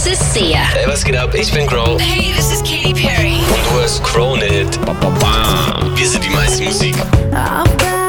ist Sia. Hey, was geht ab? Ich bin Crow. Hey, this is Katy Perry. Und du hörst Crowned. Wir sind die meiste Musik. I've got